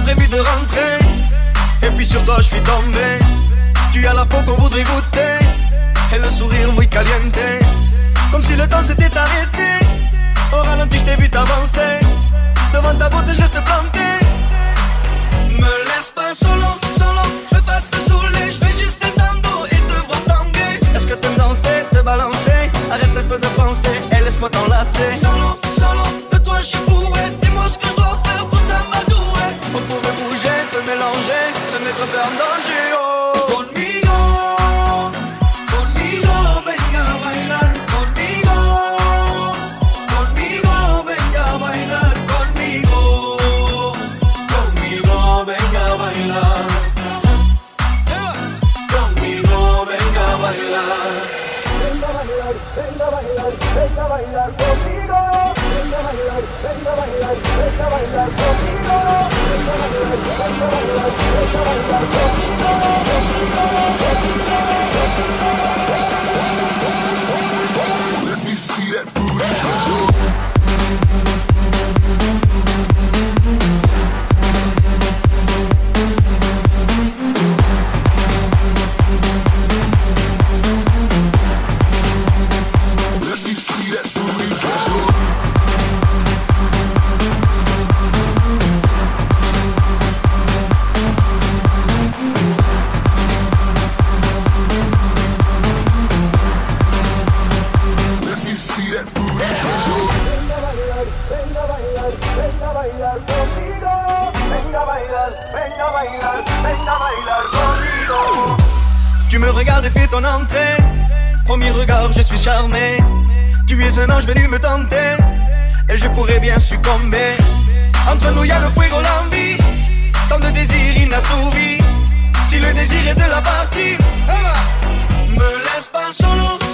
prévu de rentrer. Et puis sur toi je suis tombé. Tu as la peau qu'on voudrait goûter. Et le sourire muy caliente. Comme si le temps s'était arrêté. Au ralenti je t'ai vu t'avancer. Devant ta beauté je reste planté. Me laisse pas solo, solo. Je veux pas te saouler, je vais juste être dans le dos et te voir tanguer. Est-ce que t'aimes danser, te balancer? Arrête un peu de penser et laisse-moi t'enlacer. Solo, solo, de toi je suis fou. Dis-moi ce que je dois faire pour t'amadouer. On pourrait bouger, se mélanger, se mettre un peu en danger. Oh. Conmigo, conmigo, venga a bailar. Conmigo, conmigo, venga a bailar. Conmigo, conmigo, venga a bailar. Conmigo, venga a bailar. Venga a bailar, venga a bailar, venga a bailar conmigo. Venga a bailar, venga a bailar, venga a bailar conmigo. Venga a bailar, venga a bailar, venga a bailar conmigo. Let me see that booty. Tu me regardes et fais ton entrée. Premier regard, je suis charmé. Tu es un ange venu me tenter. Et je pourrais bien succomber. Entre nous y'a le fuego, l'envie. Tant de désirs inassouvis. Si le désir est de la partie, me laisse pas solo.